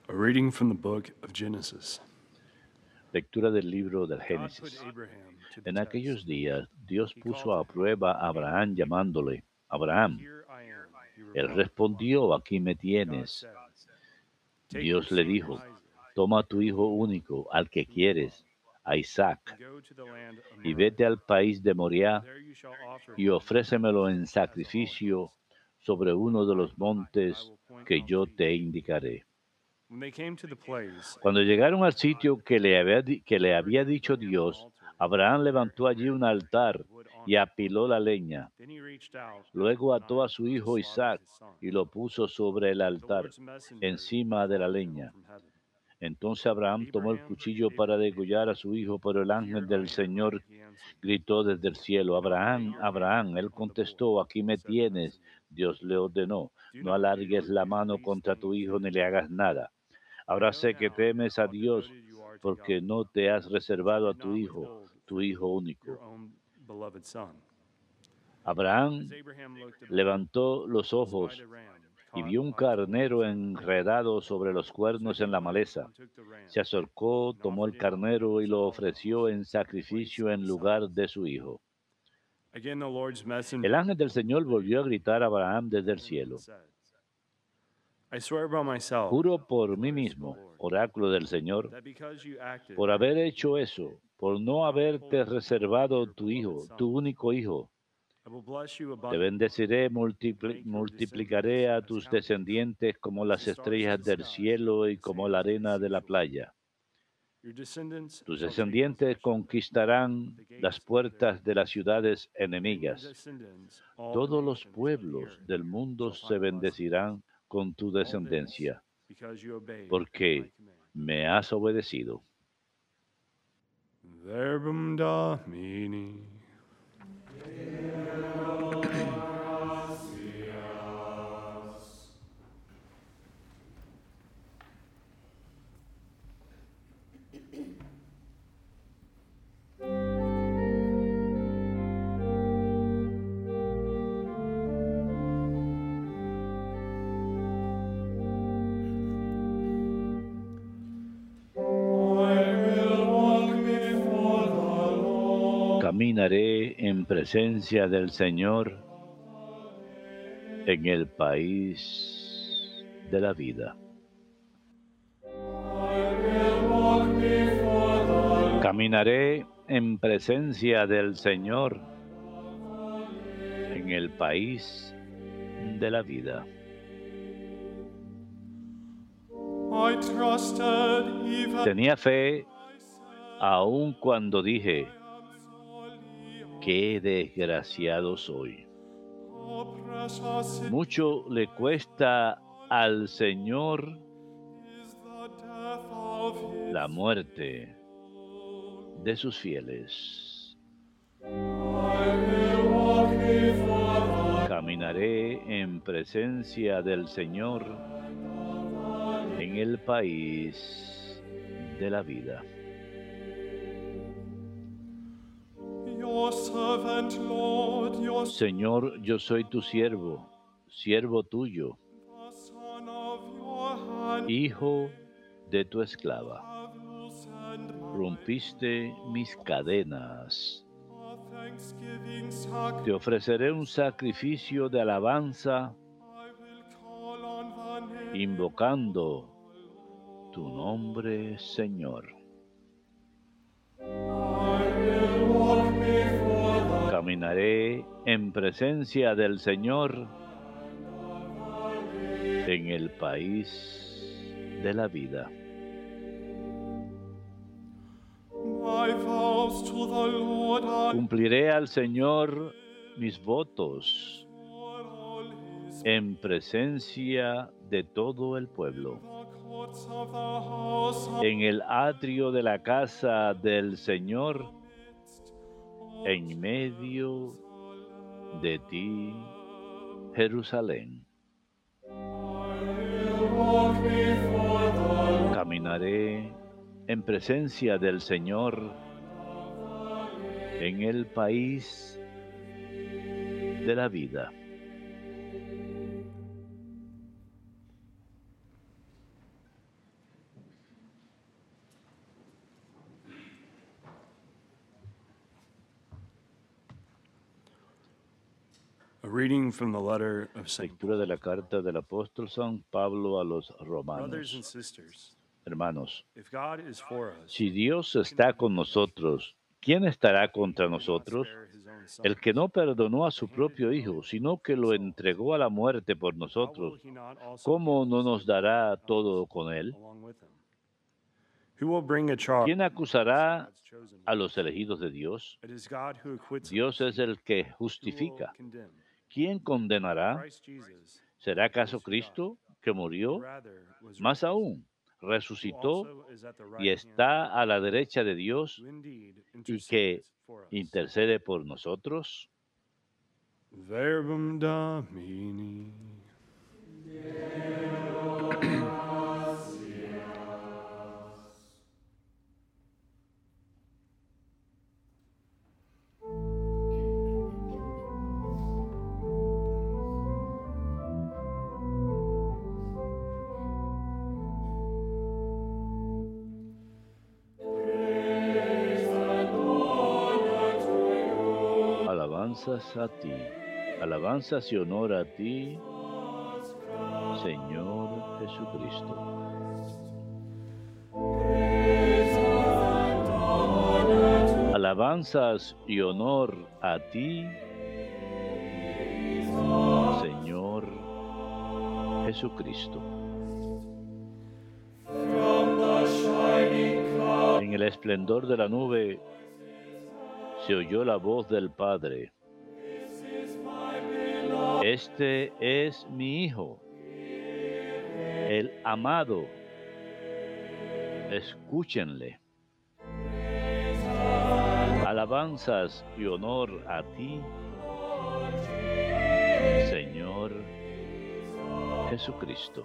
A reading from the book of Genesis. Lectura del libro del God put Génesis. Abraham to the En aquellos test. días, Dios He called puso to a him, prueba a Abraham llamándole, Abraham. "Here I am," he Él replied. respondió, aquí me God tienes. said, "Take your Dios le son dijo, Isaac, toma a tu your hijo only one, único, al que whom you love, quieres, a Isaac, and go to the land of y Moriah. vete al país de Moriah There you shall offer y him ofrécemelo en as a sacrificio holocaust sobre on the uno de los mountain that I montes will point que out yo to you." te indicaré. When they came to the place, Cuando llegaron al sitio que le había Abraham dicho built an Dios, altar Abraham there levantó and allí un prepared altar wood on y it. apiló la leña. Then he reached out and took Luego the ató a knife su to hijo slaughter Isaac his son. y lo puso sobre el The altar, Lord's messenger encima de la called to him leña. from heaven, Entonces Abraham tomó el "Abraham, cuchillo para Abraham." degollar a su hijo, pero el "Here ángel I del am," Señor he answered. gritó desde el cielo, "Do not lay Abraham, your hand Abraham. Él on the boy," contestó, aquí me said the tienes. messenger. Dios le ordenó, "Do no not do alargues or la do the mano least contra thing tu to hijo ni him. le hagas nada. I Ahora know sé que now temes a how Dios devoted you are to porque God, no te has as you reservado a did tu not withhold from hijo me your único. own beloved son." As Abraham Abraham looked about, levantó los he spied ojos a ram y caught vio un by its carnero horns in the thicket. enredado sobre los So cuernos he en la went maleza. and took the ram Se acercó, and tomó offered el it carnero y as a lo holocaust ofreció en in place sacrificio of en his lugar son. de su hijo. Again, the Lord's El messenger ángel del Señor appeared to volvió a Abraham gritar a Abraham from desde el heaven and cielo. said, "I swear by myself," Juro por mí declares the mismo, Lord, oráculo del Señor, "that because you acted por haber hecho righteously eso, por and no not haberte withholding from me reservado your beloved son, tu único hijo, I will bless you te abundantly bendeciré, and make your multiplicaré descendants a as tus countless descendientes como as las the stars of estrellas the del sky cielo and y the como la sands of the arena de la seashore. playa. Your descendants Tus shall take descendientes possession of conquistarán the las gates of their puertas de las enemies, ciudades and in your enemigas. descendants all the Todos los nations of the pueblos earth del mundo shall se find blessing. bendecirán con tu All this descendencia, because you obeyed my porque command." me has obedecido. Verbum Domini. Caminaré en presencia del Señor en el país de la vida. Caminaré en presencia del Señor en el país de la vida. Tenía fe aun cuando dije, qué desgraciado soy. Mucho le cuesta al Señor la muerte de sus fieles. Caminaré en presencia del Señor en el país de la vida. Señor, yo soy tu siervo, siervo tuyo, hijo de tu esclava. Rompiste mis cadenas. Te ofreceré un sacrificio de alabanza, invocando tu nombre, Señor. Caminaré en presencia del Señor en el país de la vida. Cumpliré al Señor mis votos en presencia de todo el pueblo. En el atrio de la casa del Señor, en medio de ti, Jerusalén. Caminaré en presencia del Señor en el país de la vida. A reading from the letter of St. Lectura de la Paul. carta del apóstol San Pablo a los Brothers and romanos. sisters, Hermanos, if God is for us, si Dios está con nosotros, ¿quién estará contra who did not nosotros? spare his own son, El que no perdonó a but su handed propio him Hijo, over sino to que lo us all, entregó a la muerte por how will nosotros, he not also ¿cómo give no us nos with dará us todo con él? along with him? Who will bring a charge ¿Quién against acusará God's chosen a los ones? elegidos de Dios? It is God who acquits Dios us. es el que Who will justifica. condemn? ¿Quién condenará? Christ Jesus, ¿Será who acaso is who died, Cristo que who murió? rather was Más raised, aún, who resucitó also is at the y right hand of está a God, la derecha de Dios who indeed y que intercedes for us. intercede por nosotros. Verbum Domini. Alabanzas a ti, alabanzas y honor a ti, Señor Jesucristo. Alabanzas y honor a ti, Señor Jesucristo. En el esplendor de la nube se oyó la voz del Padre. Este es mi Hijo, el amado. Escúchenle. Alabanzas y honor a ti, Señor Jesucristo.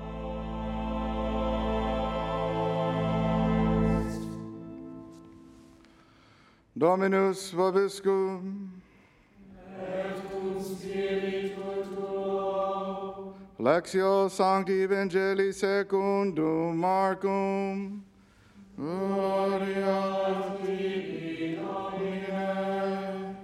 Dominus vobiscum. Lectio Sancti Evangelii secundum Marcum. Gloria a ti, Domine.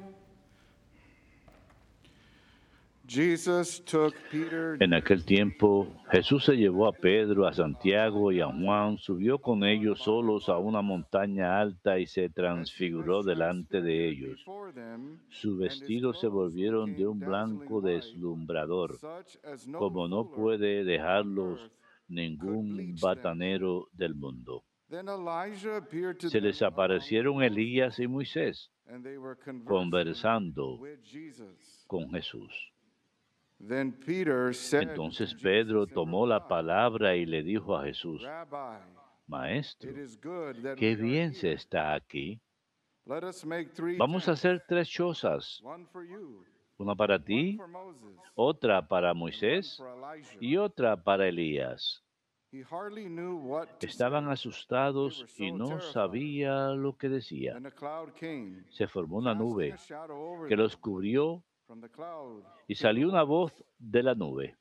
Jesus took Peter. En aquel tiempo, Jesús se llevó a Pedro, a Santiago y a Juan, subió con ellos solos a una montaña alta y se transfiguró delante de ellos. Sus vestidos se volvieron de un blanco deslumbrador, como no puede dejarlos ningún batanero del mundo. Se les aparecieron Elías y Moisés conversando con Jesús. Entonces Pedro tomó la palabra y le dijo a Jesús: Maestro, qué bien se está aquí. Vamos a hacer 3 chozas, una para ti, otra para Moisés y otra para Elías. Estaban asustados y no sabían lo que decían. Se formó una nube que los cubrió y salió una voz de la nube.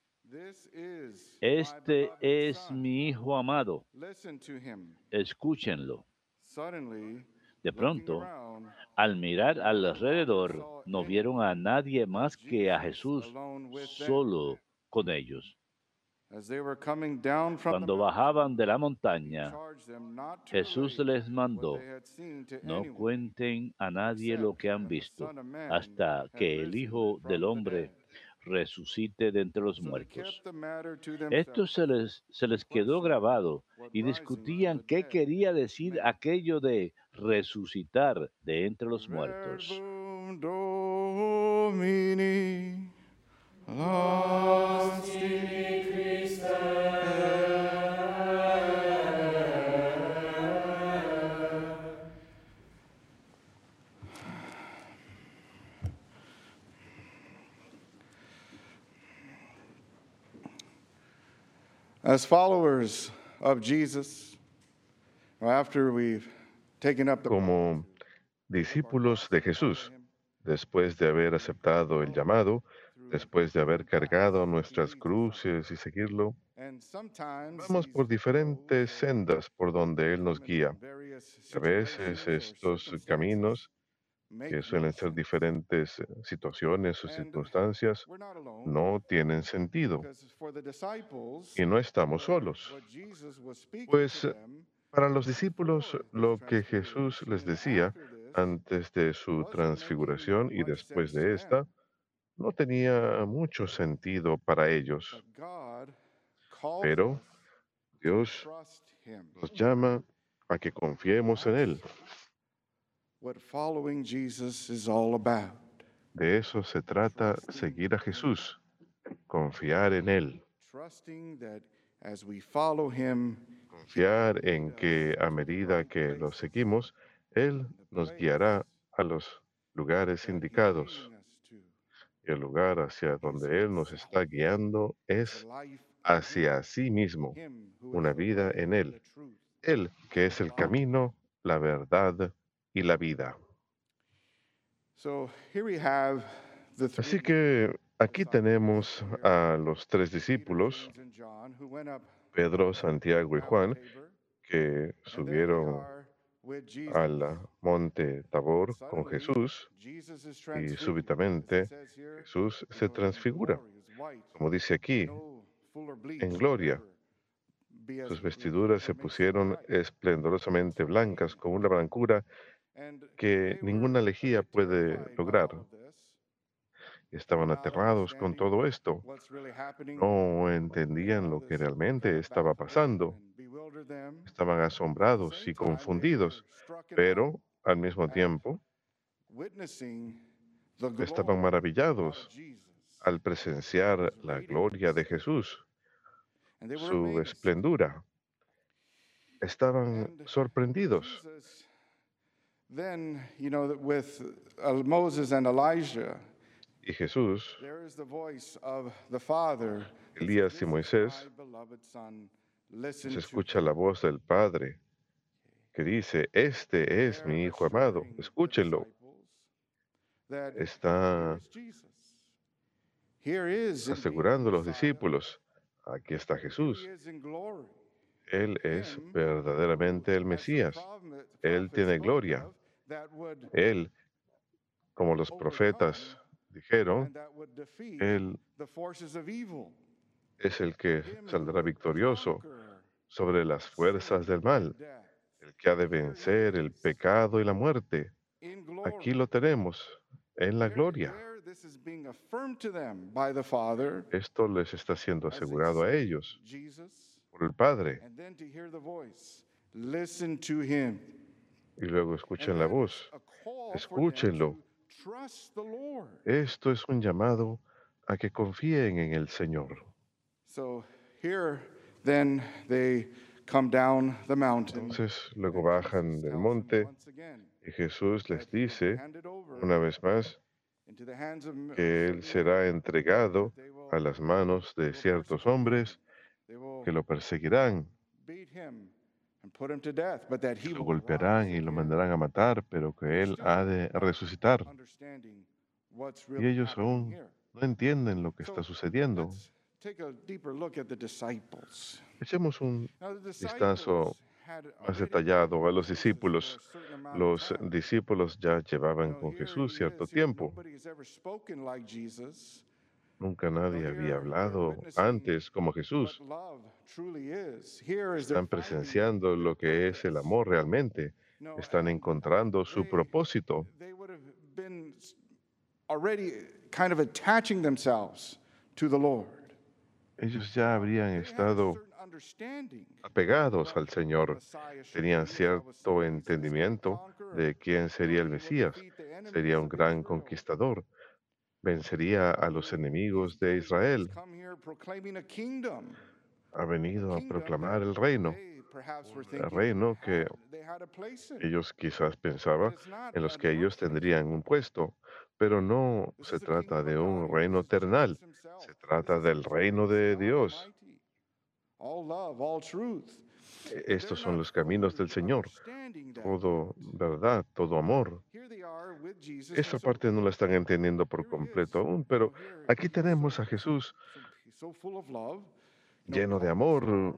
Este es mi Hijo amado. Escúchenlo. De pronto, al mirar alrededor, no vieron a nadie más que a Jesús solo con ellos. Cuando bajaban de la montaña, Jesús les mandó: no cuenten a nadie lo que han visto, hasta que el Hijo del Hombre resucite de entre los muertos. Esto se les quedó grabado y discutían qué quería decir aquello de resucitar de entre los muertos. Verbum Domini. Lasti Christe. As followers of Jesus, after we've taken up the Como discípulos de Jesús, después de haber aceptado el llamado, después de haber cargado nuestras cruces y seguirlo, vamos por diferentes sendas por donde Él nos guía. A veces estos caminos que suelen ser diferentes situaciones o circunstancias, no tienen sentido y no estamos solos. Pues para los discípulos, lo que Jesús les decía antes de su transfiguración y después de esta, no tenía mucho sentido para ellos. Pero Dios nos llama a que confiemos en Él. De eso se trata seguir a Jesús, confiar en Él, confiar en que a medida que lo seguimos, Él nos guiará a los lugares indicados. Y el lugar hacia donde Él nos está guiando es hacia sí mismo, una vida en Él. Él que es el camino, la verdad y la vida. Así que aquí tenemos a los tres discípulos, Pedro, Santiago y Juan, que subieron al monte Tabor con Jesús y súbitamente Jesús se transfigura, como dice aquí, en gloria. Sus vestiduras se pusieron esplendorosamente blancas, con una blancura que ninguna lejía puede lograr. Estaban aterrados con todo esto. No entendían lo que realmente estaba pasando. Estaban asombrados y confundidos, pero al mismo tiempo estaban maravillados al presenciar la gloria de Jesús, su esplendura. Estaban sorprendidos. Y Jesús, Elías y Moisés, se escucha la voz del Padre que dice, este es mi Hijo amado, escúchenlo. Está asegurando a los discípulos, aquí está Jesús. Él es verdaderamente el Mesías. Él tiene gloria. Él, como los profetas dijeron, Él es el que saldrá victorioso sobre las fuerzas del mal, el que ha de vencer el pecado y la muerte. Aquí lo tenemos, en la gloria. Esto les está siendo asegurado a ellos por el Padre. Y luego escuchen la voz. Escúchenlo. Esto es un llamado a que confíen en el Señor. Entonces luego bajan del monte y Jesús les dice una vez más que Él será entregado a las manos de ciertos hombres que lo perseguirán, lo golpearán y lo mandarán a matar, pero que Él ha de resucitar. Y ellos aún no entienden lo que está sucediendo. Echemos un vistazo más detallado a los discípulos. Los discípulos ya llevaban con Jesús cierto tiempo. Nunca nadie había hablado antes como Jesús. Están presenciando lo que es el amor realmente. Están encontrando su propósito. Ellos ya habrían estado apegados al Señor, tenían cierto entendimiento de quién sería el Mesías. Sería un gran conquistador, vencería a los enemigos de Israel. Ha venido a proclamar el reino, un reino que ellos quizás pensaban en los que ellos tendrían un puesto, pero no se trata de un reino terrenal, se trata del reino de Dios. Estos son los caminos del Señor, todo verdad, todo amor. Esta parte no la están entendiendo por completo aún, pero aquí tenemos a Jesús lleno de amor,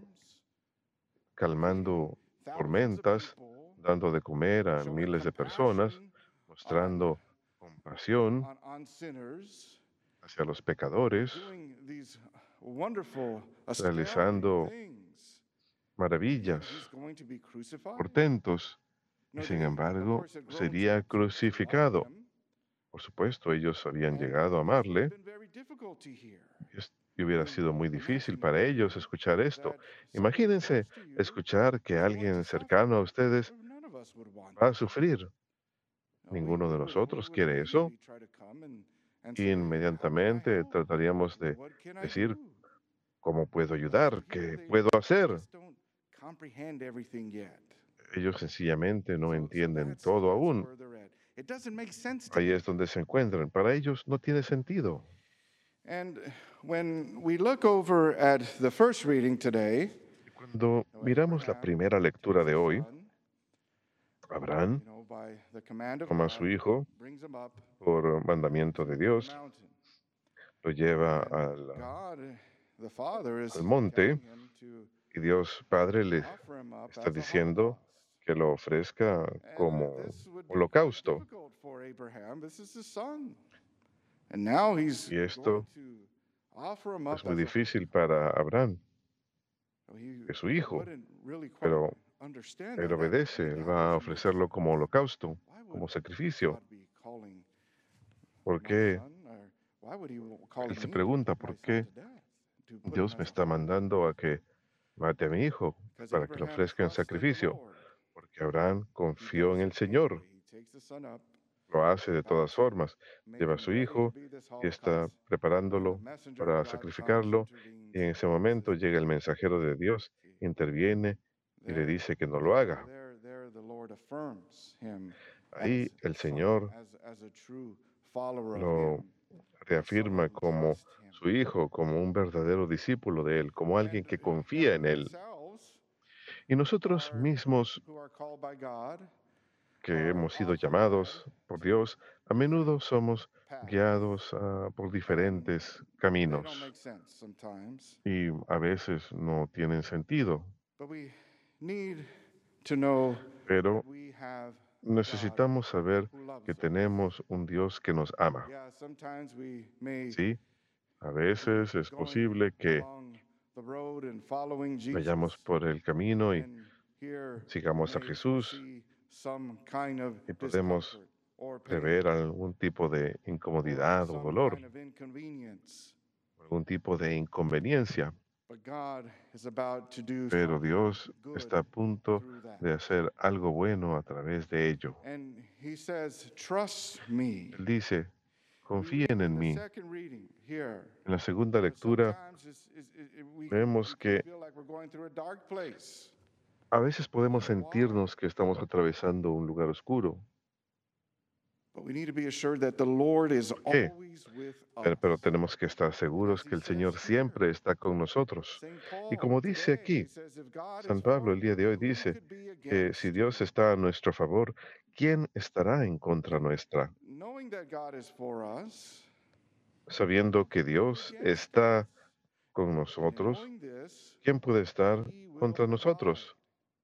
calmando tormentas, dando de comer a miles de personas, mostrando compasión on sinners, hacia los pecadores, doing these wonderful, astounding realizando things. maravillas, He's going to be crucified. portentos, y No, sin they, of embargo course, had grown sería to love crucificado. him, Por supuesto, ellos habían and llegado a this would have amarle been very difficult to hear. y hubiera sido muy difícil para ellos escuchar esto. That someone Imagínense close to you escuchar que is going alguien to suffer. cercano a ustedes None of us would want va a that. sufrir. No, Ninguno de we nosotros would quiere eso. immediately try to come and say, how can I Inmediatamente help? trataríamos de What can I decir, do? ¿cómo puedo But ayudar? here ¿Qué they puedo hacer? just don't comprehend everything yet. Ellos sencillamente no So entienden todo that's aún. where they're at. It doesn't make sense to Ahí them. es donde se encuentran. Para ellos no tiene sentido. And when we look over at the first reading today, Cuando miramos la primera lectura de hoy, Abraham by the command of toma a God, su hijo brings him up por mandamiento de to the Dios, mountain. lo lleva And God, the Father, is al monte, telling him to y Dios Padre le offer him up está as a diciendo holocaust. que lo ofrezca And como this would be holocausto. difficult for Abraham. This is his son. And now he's Y esto going to offer him up es muy as a difícil para Abraham, So he que es su hijo, wouldn't really quite pero understand él that. obedece, él va a ofrecerlo como holocausto, Why como would sacrificio. God be calling ¿Por my qué? son, or why would he call Él se me to pregunta, put my ¿por son qué to death, to put him Dios as me a está holocaust? mandando a que mate a mi hijo Because para que lo Abraham ofrezca en trusted the sacrificio? Lord. Porque Abraham He confió does en el it Señor, anyway. He takes the son up, lo hace de about todas to formas, make lleva a him su ready to hijo be this y está holocaust, when the preparándolo messenger of para God comes, sacrificarlo, intervenes, y en ese and momento says, llega el mensajero de Dios, interviene y le there, dice que no lo haga. there the Lord affirms him Ahí as el a son, Señor as a true follower of lo him, reafirma someone who como trusts him. su hijo, como un verdadero discípulo de él, como alguien que confía en We él. ourselves Y nosotros mismos, who are called by God que hemos sido llamados por Dios, a menudo somos paths, guiados por diferentes they don't caminos make sense sometimes, y a veces no tienen sentido, but we need to know pero that we have necesitamos saber who loves que us. tenemos un Dios que nos ama. Yeah, sometimes we may Sí, a veces es going posible que along the road and following Jesus, vayamos por el camino y and here sigamos a may Jesús foresee some kind of y podemos discomfort or pain prever algún tipo de or incomodidad o some dolor, kind of inconvenience. algún tipo de inconveniencia, But God is about to do pero something Dios good está a punto through that. de hacer algo bueno a través de ello. And he says, trust me. Él dice, We read confíen in en the mí. second reading here. En la segunda lectura Sometimes we vemos que feel like we're going through a dark place. a veces podemos sentirnos que estamos atravesando un lugar oscuro, But we need to be assured that the Lord is qué? always with us. Pero tenemos que estar seguros que el Señor siempre está con nosotros. Saint Y Paul como dice today aquí, says, if God San is Pablo for el día de hoy you, who dice could be que against si you? Dios está a nuestro favor, ¿quién estará en contra nuestra? Knowing that God is for us, Sabiendo que Dios está con and in nosotros, knowing this, ¿quién puede estar he will contra provide. nosotros?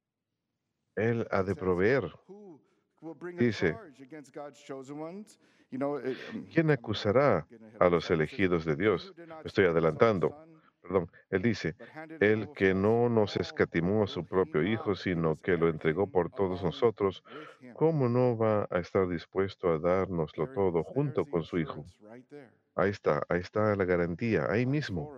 Él ha It de says, proveer. who will bring a Dice, charge against God's chosen ones? ¿quién acusará a los elegidos de Dios? Me estoy adelantando. Perdón, él dice, el que no nos escatimó a su propio Hijo, sino que lo entregó por todos nosotros, ¿cómo no va a estar dispuesto a dárnoslo todo junto con su Hijo? Ahí está la garantía, ahí mismo.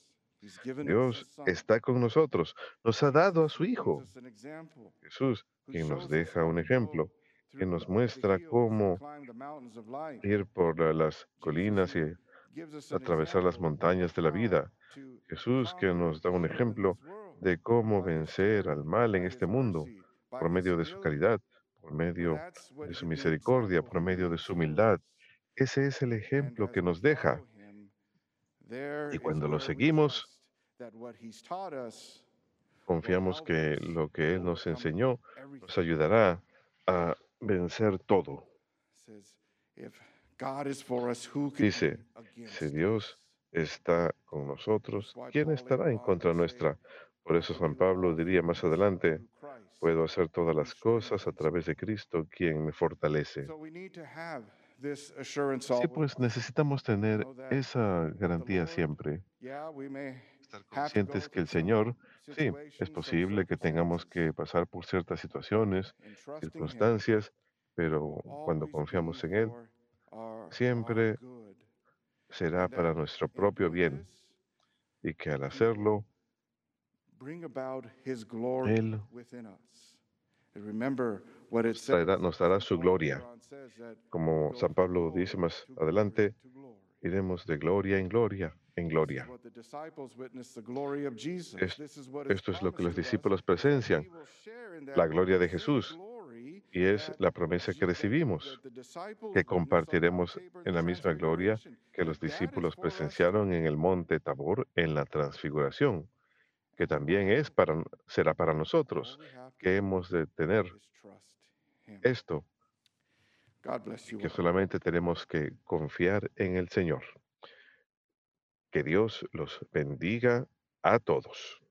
Dios está con nosotros, nos ha dado a su Hijo. Jesús, quien nos deja un ejemplo, que nos muestra cómo ir por las colinas y atravesar las montañas de la vida. Jesús que nos da un ejemplo de cómo vencer al mal en este mundo por medio de su caridad, por medio de su misericordia, por medio de su humildad. Ese es el ejemplo que nos deja. Y cuando lo seguimos, confiamos que lo que Él nos enseñó nos ayudará a vencer todo. Dice, si Dios está con nosotros, ¿quién estará en contra nuestra? Por eso San Pablo diría más adelante, Puedo hacer todas las cosas a través de Cristo, quien me fortalece. So we need to have this assurance Así always. pues, necesitamos tener Know that esa with the garantía Lord, siempre. yeah, we may Estar have to conscientes go que through el some Señor, sí, es situations, some posible que tengamos circumstances, que pasar por ciertas but situaciones, in trusting Him, circunstancias, it pero will cuando always be confiamos en Él, for our siempre good. será And para that nuestro in propio doing bien this, y que al He will hacerlo, bring about His glory Él within us. And remember what it says. nos dará St. su Paul gloria. later on says that we Como go San from Pablo dice glory más to glory adelante, to glory. iremos de gloria en gloria, en This is gloria. what the disciples witnessed, the glory of Jesus. Es- This is what is Esto es lo que promised los to us, discípulos is that presencian, we will share in la that gloria de same Jesús, glory y es that, la promesa que recibimos, that the disciples que witnessed on Mount compartiremos Tabor, en the la misma gloria Transfiguration, que los that is discípulos for us too. presenciaron en el monte Tabor en la transfiguración, que también será para All nosotros, we have to que do hemos de tener is trust Him. esto, God bless y you que all. solamente tenemos que confiar en el Señor. Que Dios los bendiga a todos.